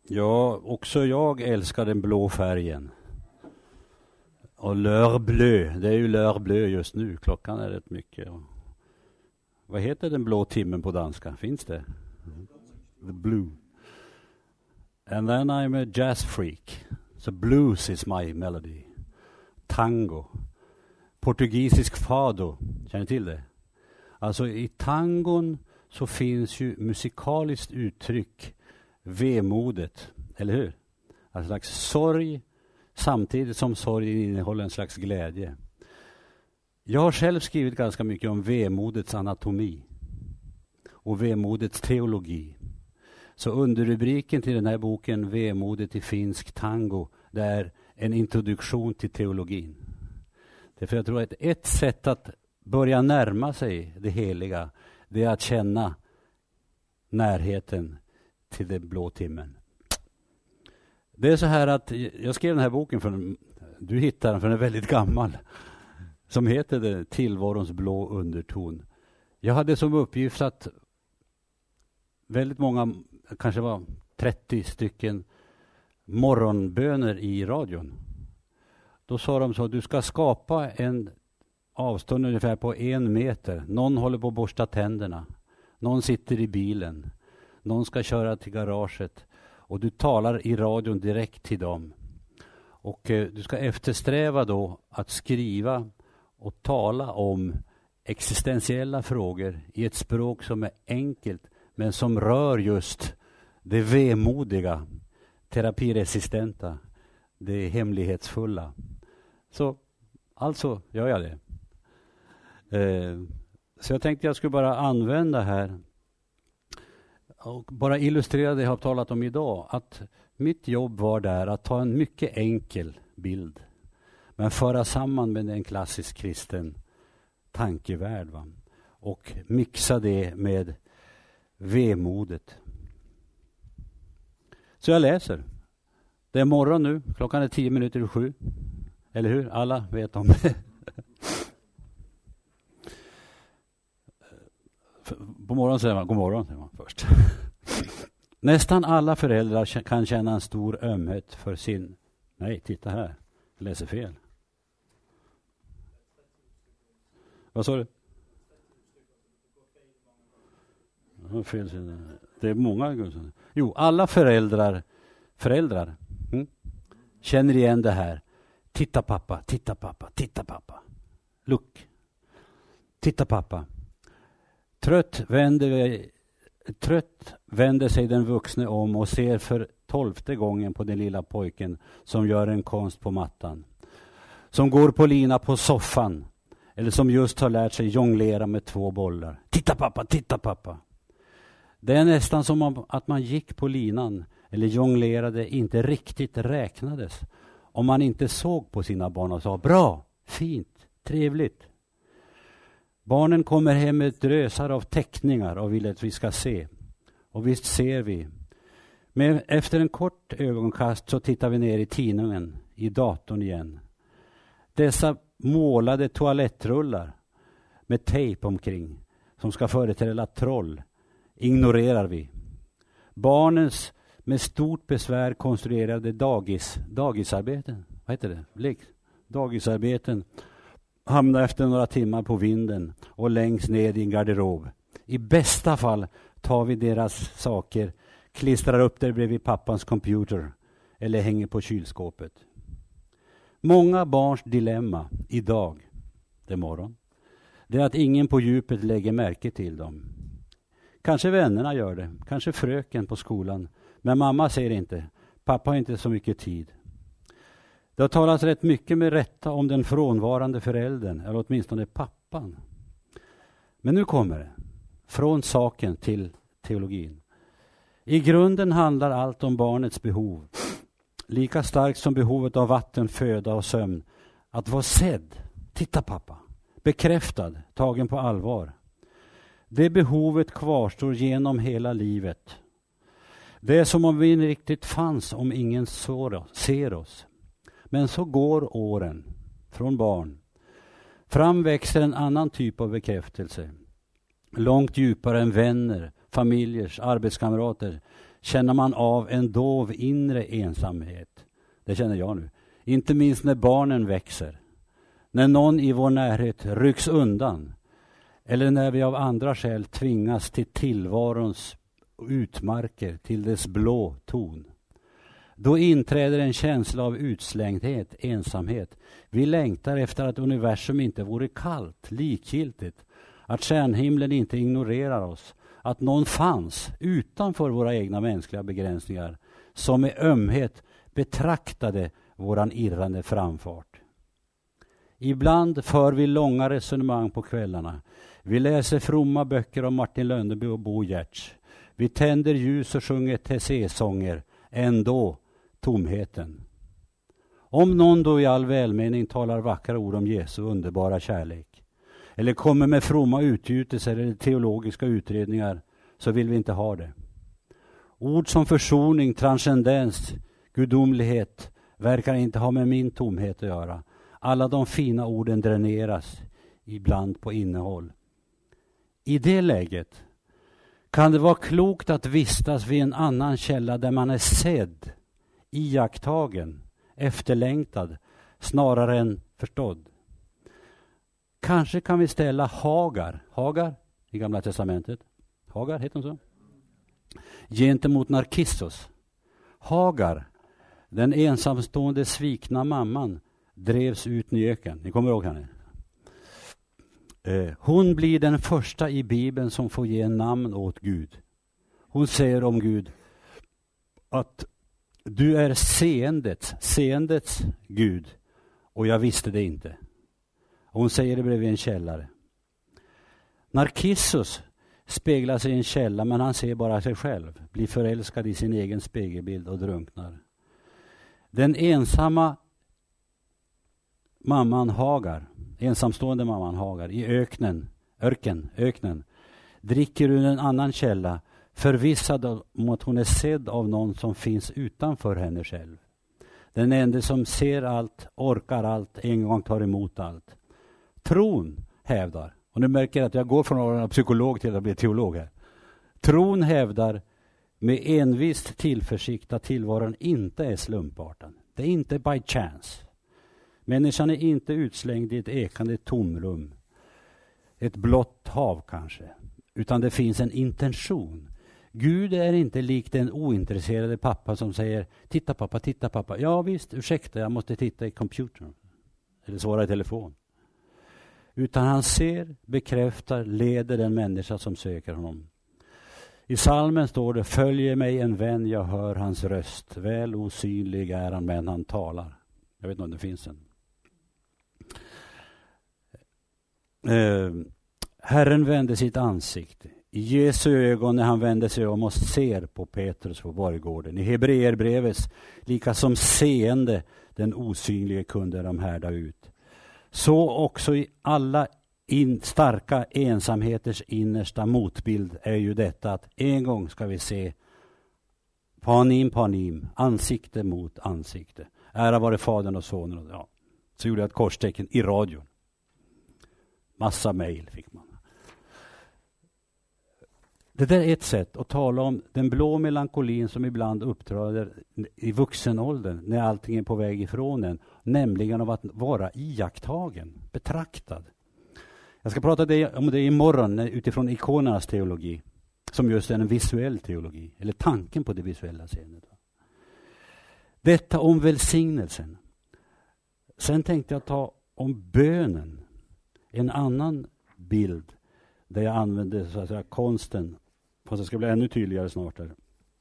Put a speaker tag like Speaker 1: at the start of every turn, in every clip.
Speaker 1: Ja, också jag älskar den blå färgen. Och l'heure bleu, det är ju l'heure bleu just nu. Klockan är rätt mycket. Vad heter den blå timmen på danska? Finns det? The blue. And then I'm a jazz freak. So blues is my melody. Tango. Portugisisk fado. Känner ni till det? Alltså i tangon så finns ju musikaliskt uttryck vemodet, eller hur? Alltså en slags sorg samtidigt som sorgen innehåller en slags glädje. Jag har själv skrivit ganska mycket om vemodets anatomi och vemodets teologi. Så underrubriken till den här boken, Vemodet i finsk tango, det är en introduktion till teologin. Därför jag tror att ett sätt att börja närma sig det heliga, det är att känna närheten till den blå timmen. Det är så här att jag skrev den här boken, du hittar den för den är väldigt gammal, som heter det, Tillvarons blå underton. Jag hade som uppgift att väldigt många, kanske var 30 stycken morgonböner i radion. Då sa de så, du ska skapa en avstånd ungefär på 1 meter. Någon håller på att borsta tänderna. Någon sitter i bilen. Någon ska köra till garaget. Och du talar i radion direkt till dem. Och du ska eftersträva då att skriva och tala om existentiella frågor i ett språk som är enkelt men som rör just det vemodiga, terapiresistenta, det hemlighetsfulla. Så alltså gör jag det. Så jag tänkte jag skulle bara använda här och bara illustrera det jag har talat om idag. Att mitt jobb var där att ta en mycket enkel bild men föra samman med en klassisk kristen tankevärld. Va? Och mixa det med vemodet. Så jag läser. Det är morgon nu. Klockan är 6:50. Eller hur? Alla vet om det. På morgonen säger man god morgon säger man först. Nästan alla föräldrar kan känna en stor ömhet för sin... Nej, titta här. Jag läser fel. Vad sa du? Det är många. Jo, alla föräldrar känner igen det här. Titta pappa, titta pappa, titta pappa. Look. Titta pappa. Trött vänder sig den vuxne om och ser för 12:e gången på den lilla pojken som gör en konst på mattan. Som går på lina på soffan. Eller som just har lärt sig jonglera med 2 bollar. Titta pappa, titta pappa. Det är nästan som att man gick på linan eller jonglerade inte riktigt räknades. Om man inte såg på sina barn och sa bra, fint, trevligt. Barnen kommer hem med drösar av teckningar och vill att vi ska se. Och visst ser vi. Men efter en kort ögonkast så tittar vi ner i tidningen, i datorn igen. Dessa målade toalettrullar med tejp omkring som ska föreställa troll ignorerar vi. Barnens med stort besvär konstruerade dagisarbeten. Vad heter det? Dagisarbeten hamnar efter några timmar på vinden och längst ner i en garderob. I bästa fall tar vi deras saker, klistrar upp där bredvid pappans computer eller hänger på kylskåpet. Många barns dilemma idag, det morgon, det är att ingen på djupet lägger märke till dem. Kanske vännerna gör det, kanske fröken på skolan, men mamma säger inte, pappa har inte så mycket tid. Det har talats rätt mycket med rätta om den frånvarande föräldern, eller åtminstone pappan. Men nu kommer det, från saken till teologin. I grunden handlar allt om barnets behov. Lika starkt som behovet av vatten, föda och sömn. Att vara sedd, titta pappa, bekräftad, tagen på allvar. Det behovet kvarstår genom hela livet. Det är som om vi inte riktigt fanns om ingen ser oss. Men så går åren från barn. Fram växer en annan typ av bekräftelse. Långt djupare än vänner, familjers, arbetskamrater. känner man av en dov inre ensamhet. Det känner jag nu. Inte minst när barnen växer. När någon i vår närhet rycks undan. Eller när vi av andra skäl tvingas till tillvarons utmarker, till dess blå ton. Då inträder en känsla av utslängdhet, ensamhet. Vi längtar efter att universum inte vore kallt, likgiltigt. Att stjärnhimlen inte ignorerar oss. Att någon fanns utanför våra egna mänskliga begränsningar som med ömhet betraktade våran irrande framfart. Ibland för vi långa resonemang på kvällarna. Vi läser fromma böcker om Martin Lönneby och Bo Giertz. Vi tänder ljus och sjunger Tessé-sånger. Ändå tomheten. Om någon då i all välmening talar vackra ord om Jesu underbara kärlek eller kommer med fromma utgjutelser eller teologiska utredningar, så vill vi inte ha det. Ord som försoning, transcendens, gudomlighet verkar inte ha med min tomhet att göra. Alla de fina orden dräneras ibland på innehåll. I det läget kan det vara klokt att vistas vid en annan källa där man är sedd, iakttagen, efterlängtad snarare än förstådd. Kanske kan vi ställa Hagar i Gamla testamentet. Hagar heter hon så? Gentemot Narkissos. Hagar, den ensamstående svikna mamman, drevs ut i öken. Ni kommer ihåg henne? Hon blir den första i Bibeln som får ge namn åt Gud. Hon säger om Gud att du är seendets Gud och jag visste det inte. Hon säger det bredvid en källare. Narkissos speglar sig i en källa, men han ser bara sig själv, blir förälskad i sin egen spegelbild och drunknar. Den ensamma mamman Hagar, ensamstående mamman Hagar i öknen, dricker ur en annan källa, förvissad om att hon är sedd av någon som finns utanför henne själv. Den enda som ser allt, orkar allt, en gång tar emot allt. Tron hävdar, och nu märker jag att jag går från att vara psykolog till att bli teolog här. Tron hävdar med envist tillförsikt att tillvaron inte är slumpartad. Det är inte by chance. Människan är inte utslängd i ett ekande tomrum. Ett blått hav kanske. Utan det finns en intention. Gud är inte likt den ointresserade pappa som säger titta pappa. Ja visst, ursäkta, jag måste titta i computern. Eller svara i telefon. Utan han ser, bekräftar, leder den människa som söker honom. I salmen står det: följer mig en vän, jag hör hans röst. Väl osynlig är han, men han talar. Jag vet inte om det finns en. Herren vände sitt ansikte. I Jesu ögon när han vände sig om och ser på Petrus på borggården. I Hebreerbrevets lika som seende den osynlige kunde de härda ut. Så också i alla starka ensamheters innersta motbild är ju detta att en gång ska vi se panim, ansikte mot ansikte. Ära vare Fadern och Sonen. Ja. Så gjorde jag ett korstecken i radion. Massa mejl fick man. Det där är ett sätt att tala om den blå melankolin som ibland uppträder i vuxenåldern när allting är på väg ifrån en. Nämligen av att vara iakttagen, betraktad. Jag ska prata om det imorgon utifrån ikonernas teologi. Som just är en visuell teologi. Eller tanken på det visuella seendet. Detta om välsignelsen. Sen tänkte jag ta om bönen. En annan bild där jag använde så att säga konsten. Fast det ska bli ännu tydligare snart. Här.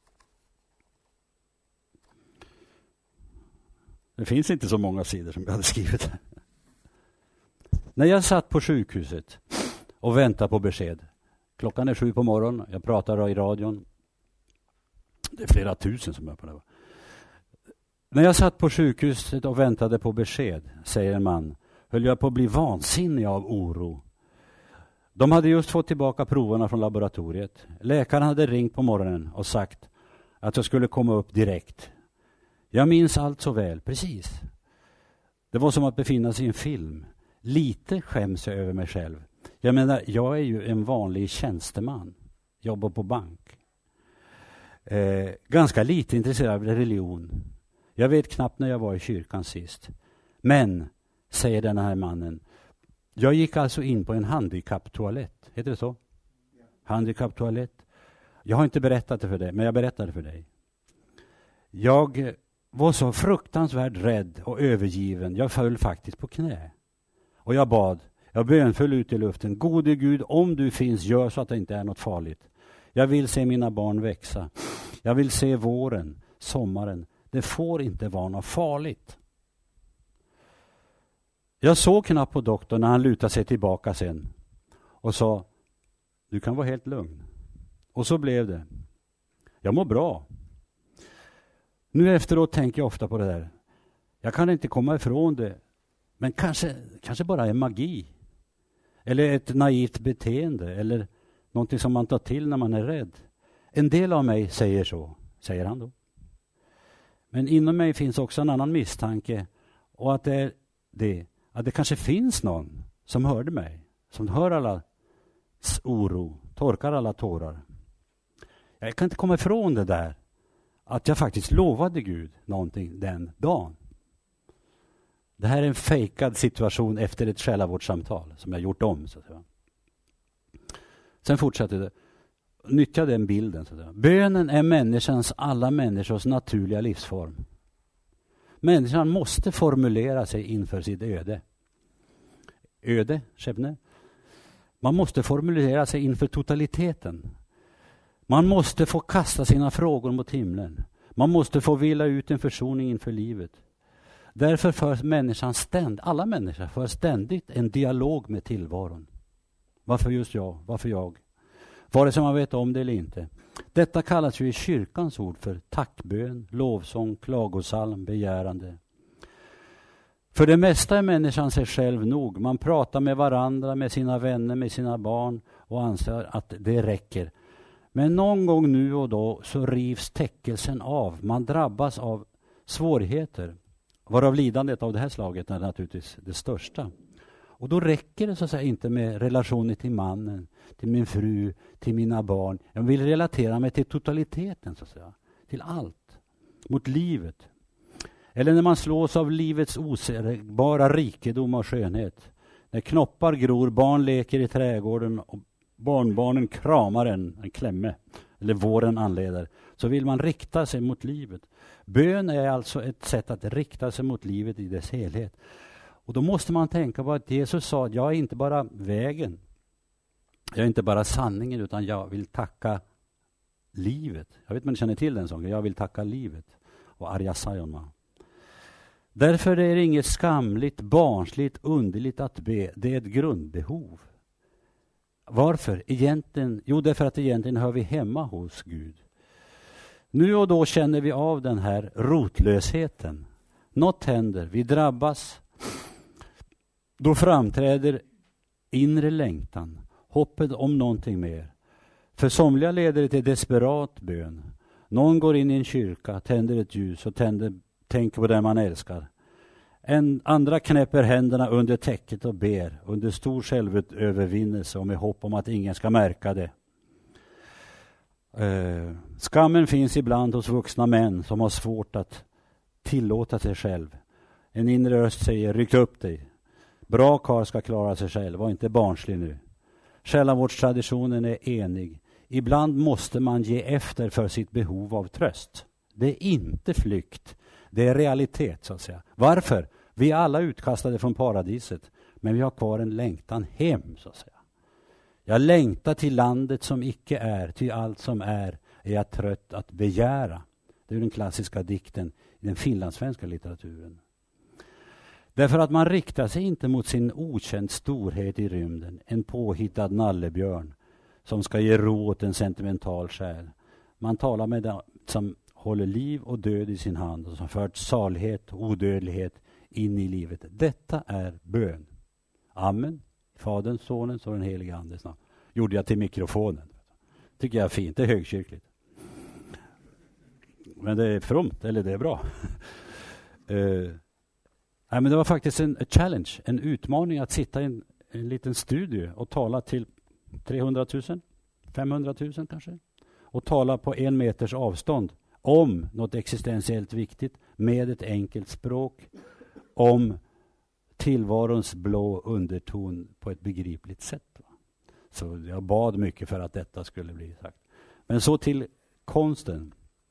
Speaker 1: Det finns inte så många sidor som jag hade skrivit. När jag satt på sjukhuset och väntade på besked. Klockan är 7 på morgonen. Jag pratar i radion. Det är flera tusen som är på det. När jag satt på sjukhuset och väntade på besked, säger en man, höll jag på att bli vansinnig av oro. De hade just fått tillbaka proverna från laboratoriet. Läkaren hade ringt på morgonen och sagt att jag skulle komma upp direkt. Jag minns allt så väl, precis. Det var som att befinna sig i en film. Lite skäms jag över mig själv. Jag menar, jag är ju en vanlig tjänsteman. Jobbar på bank. Ganska lite intresserad av religion. Jag vet knappt när jag var i kyrkan sist. Men, säger den här mannen, jag gick alltså in på en handikapptoalett. Heter det så? Ja. Handikapptoalett. Jag har inte berättat det för dig, men jag berättade för dig. Jag var så fruktansvärt rädd och övergiven. Jag föll faktiskt på knä. Och jag bad. Jag bönföll ut i luften. Gode Gud, om du finns, gör så att det inte är något farligt. Jag vill se mina barn växa. Jag vill se våren, sommaren. Det får inte vara något farligt. Jag såg knappt på doktorn när han lutade sig tillbaka sen. Och sa, du kan vara helt lugn. Och så blev det. Jag mår bra. Nu efteråt tänker jag ofta på det där. Jag kan inte komma ifrån det. Men kanske bara är magi. Eller ett naivt beteende. Eller någonting som man tar till när man är rädd. En del av mig säger så. Säger han då. Men inom mig finns också en annan misstanke. Och att det kanske finns någon som hörde mig. Som hör alla oro. Torkar alla tårar. Jag kan inte komma ifrån det där. Att jag faktiskt lovade Gud någonting den dagen. Det här är en fejkad situation efter ett själavårdssamtal som jag gjort om. Så att säga. Sen fortsätter det. Nyttja den bilden. Så att säga. Bönen är alla människors naturliga livsform. Människan måste formulera sig inför sitt öde. Öde, Schäbne. Man måste formulera sig inför totaliteten. Man måste få kasta sina frågor mot himlen. Man måste få vila ut en försoning inför livet. Därför för människan alla människor för ständigt en dialog med tillvaron. Varför just jag? Varför jag? Vare sig man vet om det eller inte. Detta kallas ju i kyrkans ord för tackbön, lovsång, klagosalm, begärande. För det mesta är människan sig själv nog. Man pratar med varandra, med sina vänner, med sina barn och anser att det räcker. Men någon gång nu och då så rivs täckelsen av. Man drabbas av svårigheter. Varav lidandet av det här slaget är naturligtvis det största. Och då räcker det så att säga inte med relationer till mannen, till min fru, till mina barn. Jag vill relatera mig till totaliteten så att säga. Till allt. Mot livet. Eller när man slås av livets osägbara rikedom och skönhet. När knoppar gror, barn leker i trädgården och barnbarnen kramar en klämme. Eller våren anleder. Så vill man rikta sig mot livet. Bön är alltså ett sätt att rikta sig mot livet i dess helhet. Och då måste man tänka på att Jesus sa att jag är inte bara vägen. Jag är inte bara sanningen utan jag vill tacka livet. Jag vet inte om ni känner till den sången. Jag vill tacka livet. Och Arja Sayonma. Därför är det inget skamligt, barnsligt, underligt att be. Det är ett grundbehov. Varför? Egentligen, därför att egentligen hör vi hemma hos Gud. Nu och då känner vi av den här rotlösheten. Något händer, vi drabbas. Då framträder inre längtan, hoppet om någonting mer. För somliga leder det till desperat bön. Någon går in i en kyrka, tänder ett ljus och tänker på den man älskar. Andra knäpper händerna under täcket och ber under stor självövervinnelse och med hopp om att ingen ska märka det. Skammen finns ibland hos vuxna män som har svårt att tillåta sig själv. En inre röst säger, ryck upp dig. Bra karl ska klara sig själv, var inte barnslig nu. Själavårdstraditionen är enig. Ibland måste man ge efter för sitt behov av tröst. Det är inte flykt, det är realitet så att säga. Varför? Vi är alla utkastade från paradiset, men vi har kvar en längtan hem så att säga. Jag längtar till landet som icke är, till allt som är jag trött att begära. Det är den klassiska dikten i den finlandssvenska litteraturen. Därför att man riktar sig inte mot sin okänd storhet i rymden, en påhittad nallebjörn som ska ge ro åt en sentimental själ. Man talar med den som håller liv och död i sin hand och som fört salighet och odödlighet in i livet. Detta är bön. Amen. Faderns, sonens och den helige andes namn. Gjorde jag till mikrofonen. Tycker jag är fint, det är högkyrkligt. Men det är fromt, eller det är bra. Nej, men det var faktiskt en challenge, en utmaning att sitta i en liten studio och tala till 300 000, 500 000 kanske. och tala på 1 meters avstånd om något existentiellt viktigt med ett enkelt språk om tillvarons blå underton på ett begripligt sätt. Så jag bad mycket för att detta skulle bli sagt. Men så till konsten.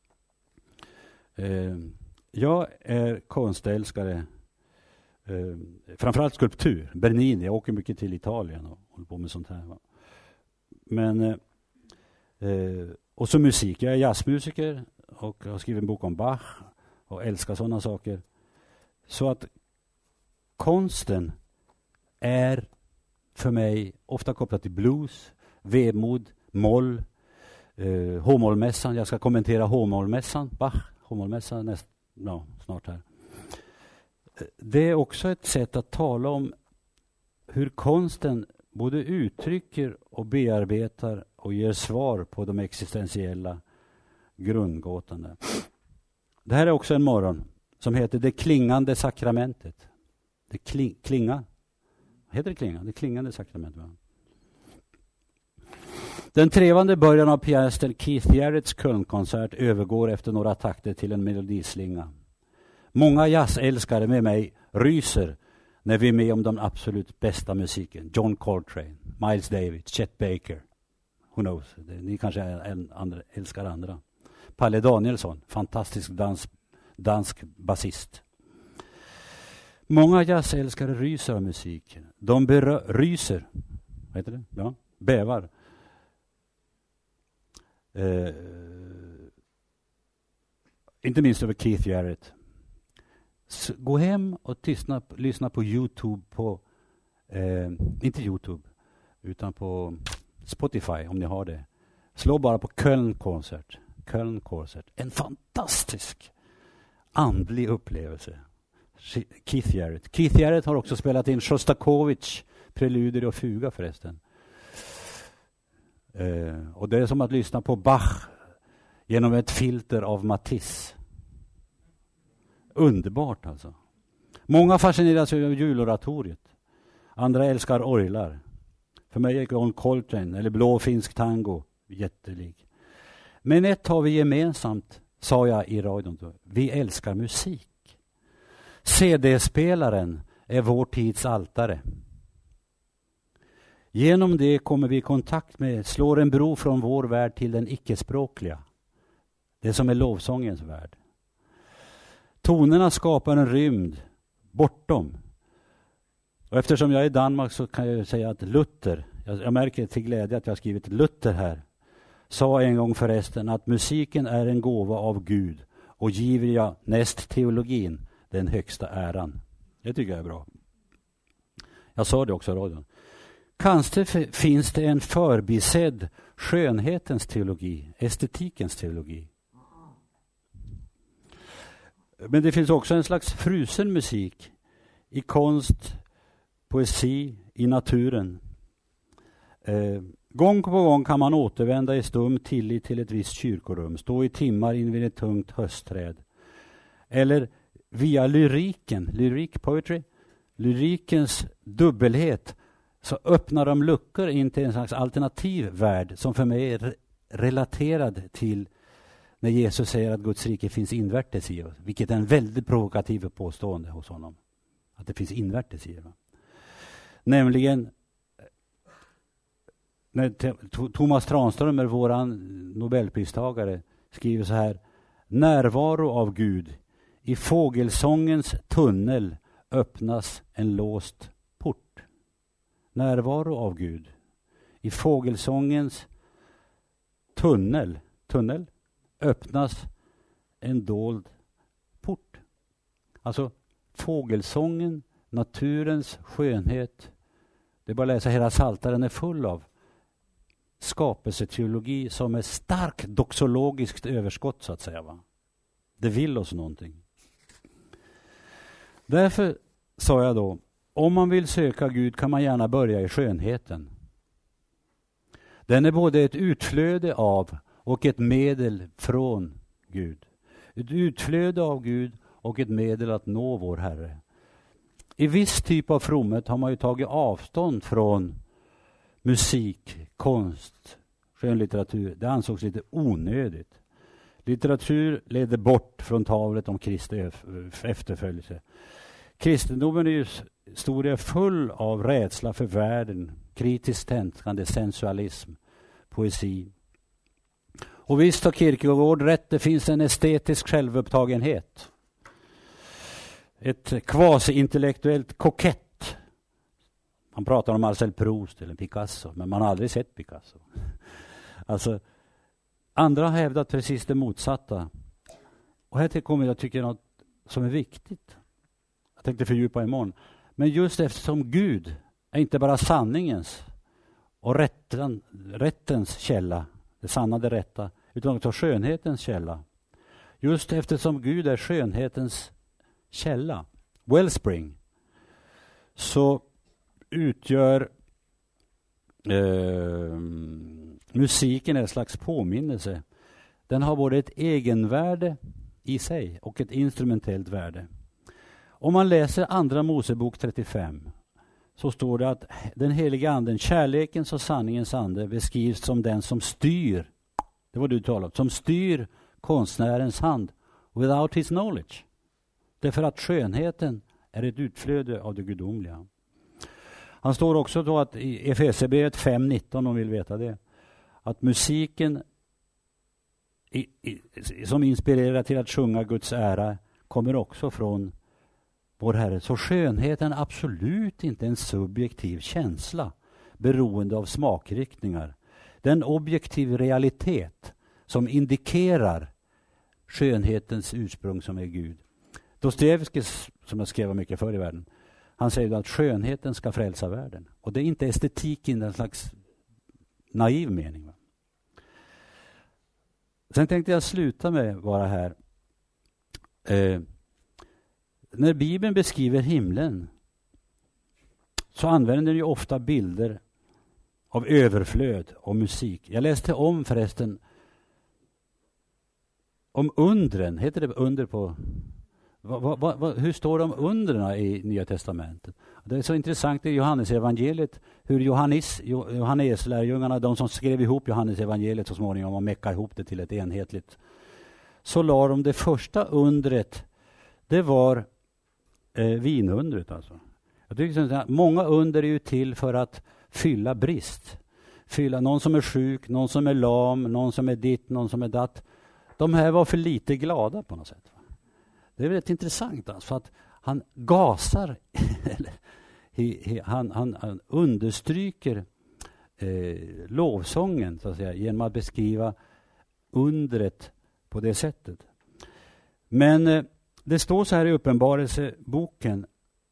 Speaker 1: Jag är konstälskare. Framförallt skulptur. Bernini. Jag åker mycket till Italien och håller på med sånt här. Va? Men och så musik. Jag är jazzmusiker och har skrivit en bok om Bach och älskar sådana saker. Så att konsten är för mig ofta kopplat till blues, vemod, moll, H-mollmässan. Jag ska kommentera H-mollmässan, Bach, H-mollmässan snart här. Det är också ett sätt att tala om hur konsten både uttrycker och bearbetar och ger svar på de existentiella grundgåtorna. Det här är också en morgon som heter Det klingande sakramentet. Det klinga. Heter det klinga? Det klingande sakramentet. Va? Den trevande början av pianisten Keith Jarretts Kölnkonsert övergår efter några takter till en melodislinga. Många jazzälskare med mig ryser när vi är med om den absolut bästa musiken. John Coltrane, Miles Davis, Chet Baker. Who knows? Ni kanske älskar andra. Palle Danielsson, fantastisk dansk basist. Många jazzälskare ryser av musiken. De ryser. Vad heter det? Ja, bävar. Inte minst över Keith Jarrett. Gå hem och lyssna på YouTube på inte YouTube utan på Spotify om ni har det. Slå bara på Kölnkonsert. En fantastisk andlig upplevelse. Keith Jarrett har också spelat in Shostakovich preludier och fuga förresten. Och det är som att lyssna på Bach genom ett filter av Matisse. Underbart alltså. Många fascineras av juloratoriet. Andra älskar orglar. För mig är John Coltrane eller blå finsk tango jättelig. Men ett har vi gemensamt, sa jag i radion. Vi älskar musik. CD-spelaren är vår tids altare. Genom det kommer vi i kontakt med, slår en bro från vår värld till den icke-språkliga. Det som är lovsångens värld. Tonerna skapar en rymd bortom. Och eftersom jag är i Danmark så kan jag säga att Luther, jag märker till glädje att jag har skrivit Luther här, sa en gång förresten att musiken är en gåva av Gud och giver jag näst teologin den högsta äran. Det tycker jag är bra. Jag sa det också i radion. Kanske finns det en förbisedd skönhetens teologi, estetikens teologi. Men det finns också en slags frusen musik i konst, poesi, i naturen. Gång på gång kan man återvända i stum tillit till ett visst kyrkorum, stå i timmar invid ett tungt höstträd. Eller via lyrikens dubbelhet så öppnar de luckor in till en slags alternativ värld som för mig är relaterad till när Jesus säger att Guds rike finns invärtes i oss. Vilket är en väldigt provokativ påstående hos honom. Att det finns invärtes i oss. Nämligen när Thomas Tranströmer, våran Nobelpristagare, skriver så här: närvaro av Gud. I fågelsångens tunnel öppnas en låst port. Närvaro av Gud. I fågelsångens tunnel öppnas en dold port. Alltså fågelsången, naturens skönhet. Det är bara att läsa hela Psaltaren är full av skapelseteologi som är starkt doxologiskt överskott så att säga. Va? Det vill oss någonting. Därför sa jag då, om man vill söka Gud kan man gärna börja i skönheten. Den är både ett utflöde av och ett medel från Gud. Ett utflöde av Gud och ett medel att nå vår Herre. I viss typ av fromhet har man ju tagit avstånd från musik, konst, skönlitteratur, det ansågs lite onödigt. Litteratur leder bort från talet om Kristi efterföljelse. Kristendomen är ju historia full av rädsla för världen, kritiskt tänkande, sensualism, poesi. Och visst har Kierkegaard rätt, det finns en estetisk självupptagenhet. Ett kvasi-intellektuellt kokett. Man pratar om Marcel Proust eller Picasso, men man har aldrig sett Picasso. Alltså, andra har hävdat precis det motsatta. Och här kommer jag tycka något som är viktigt. Jag tänkte fördjupa imorgon. Men just eftersom Gud är inte bara sanningens och rättens källa, det sanna, det rätta, utan också skönhetens källa. Just eftersom Gud är skönhetens källa, wellspring, så utgör musiken en slags påminnelse. Den har både ett egenvärde i sig och ett instrumentellt värde. Om man läser andra Mosebok 35 så står det att den heliga anden, kärlekens och sanningens ande, beskrivs som den som styr, det var du talade om, som styr konstnärens hand without his knowledge. Därför att skönheten är ett utflöde av det gudomliga. Han står också då att i Efesierbrevet 5:19, om vill veta det, att musiken som inspirerar till att sjunga Guds ära kommer också från vår Herre. Så skönheten är absolut inte en subjektiv känsla beroende av smakriktningar. Det är en objektiv realitet som indikerar skönhetens ursprung som är Gud. Dostojevskij, som jag skrev mycket förr i världen, han säger att skönheten ska frälsa världen. Och det är inte estetik i en slags naiv mening. Sen tänkte jag sluta med bara här. När Bibeln beskriver himlen så använder den ju ofta bilder av överflöd och musik. Jag läste om förresten om undren. Heter det under på... hur står det om undren i Nya testamentet? Det är så intressant i Johannes evangeliet hur Johannes lärjungarna, de som skrev ihop Johannes evangeliet så småningom och meckade ihop det till ett enhetligt, så la de det första undret, det var vinundret alltså. Jag tycker att många under är ju till för att fylla brist. Fylla någon som är sjuk, någon som är lam, någon som är ditt, någon som är datt. De här var för lite glada på något sätt. Det är väldigt intressant alltså, för att han gasar, han understryker lovsången så att säga, genom att beskriva undret på det sättet. Men det står så här i Uppenbarelseboken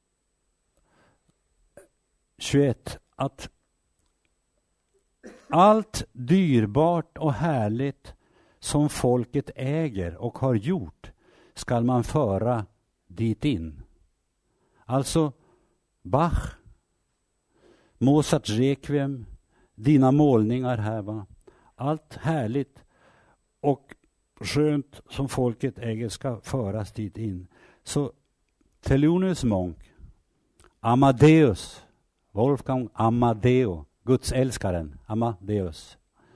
Speaker 1: 21 att allt dyrbart och härligt som folket äger och har gjort ska man föra dit in. Alltså Bach, Mozarts Requiem, dina målningar här, va? Allt härligt och skönt som folket äger ska föras dit in. Så Thelonious Monk, Amadeus, Wolfgang Amadeo, Guds älskaren, Amadeus,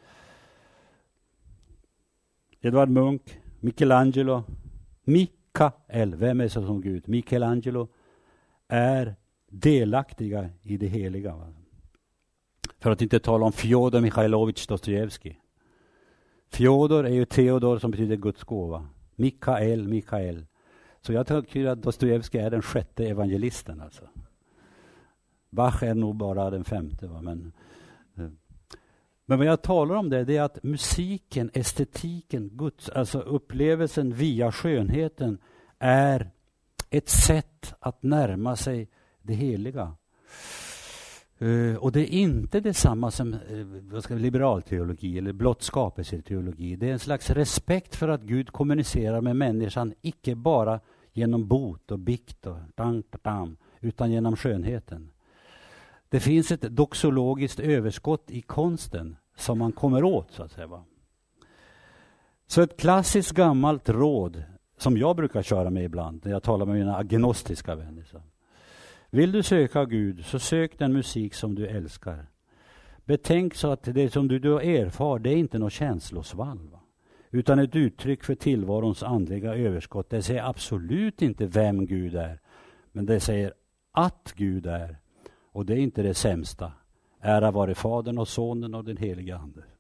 Speaker 1: Edvard Munch, Michelangelo, Mikael, vem är så som Gud? Michelangelo är delaktiga i det heliga. Va? För att inte tala om Fjodor Mikhailovich Dostojevskij. Fjodor är ju Theodor som betyder Guds gåva. Mikael. Så jag tycker att Dostojevskij är den 6:e evangelisten. Alltså. Bach är nog bara den 5:e. Va? Men vad jag talar om det är att musiken, estetiken, Guds, alltså upplevelsen via skönheten är ett sätt att närma sig det heliga. Och det är inte detsamma som liberalteologi eller blott skapelseteologi. Det är en slags respekt för att Gud kommunicerar med människan, icke bara genom bot och bikt och utan genom skönheten. Det finns ett doxologiskt överskott i konsten som man kommer åt, så att säga. Va? Så ett klassiskt gammalt råd som jag brukar köra med ibland när jag talar med mina agnostiska vänner. Så. Vill du söka Gud så sök den musik som du älskar. Betänk så att det som du erfar, det är inte något känslosvall, va? Utan ett uttryck för tillvarons andliga överskott. Det säger absolut inte vem Gud är, men det säger att Gud är. Och det är inte det sämsta. Ära vare Fadern och Sonen och den helige Ande.